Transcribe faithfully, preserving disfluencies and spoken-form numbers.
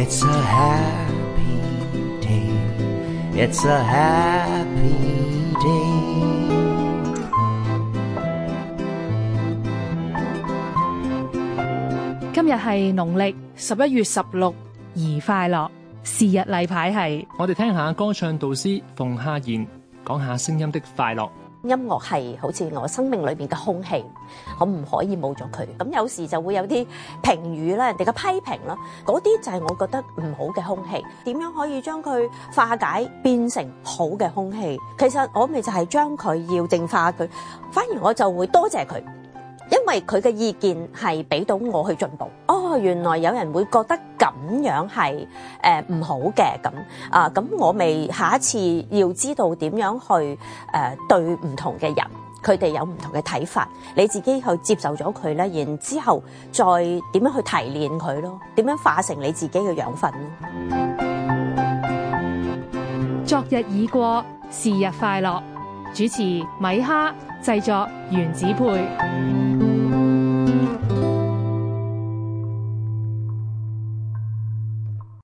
It's a happy day. It's a happy day. 今日係農曆十一月十六，宜快樂。是日例牌係， 我哋聽下歌唱導師馮夏賢講下聲音的快樂。 音樂係好似我生命裏邊嘅空氣，我唔可以冇咗佢。咁有時就會有啲評語啦，人哋嘅批評啦，嗰啲就係我覺得唔好嘅空氣。點樣可以將佢化解變成好嘅空氣？其實我咪就係將佢要淨化佢，反而我就會多謝佢。因為佢嘅意見係俾到我去進步。哦，原來有人會覺得咁樣係誒唔好嘅咁啊，咁我咪下一次要知道點樣去誒、呃、對唔同嘅人，佢哋有唔同嘅睇法，你自己去接受咗佢咧，然之後再點樣去提煉佢咯，點樣化成你自己嘅養分咯。 昨日已過，是日快樂。主持米哈，製作原子配。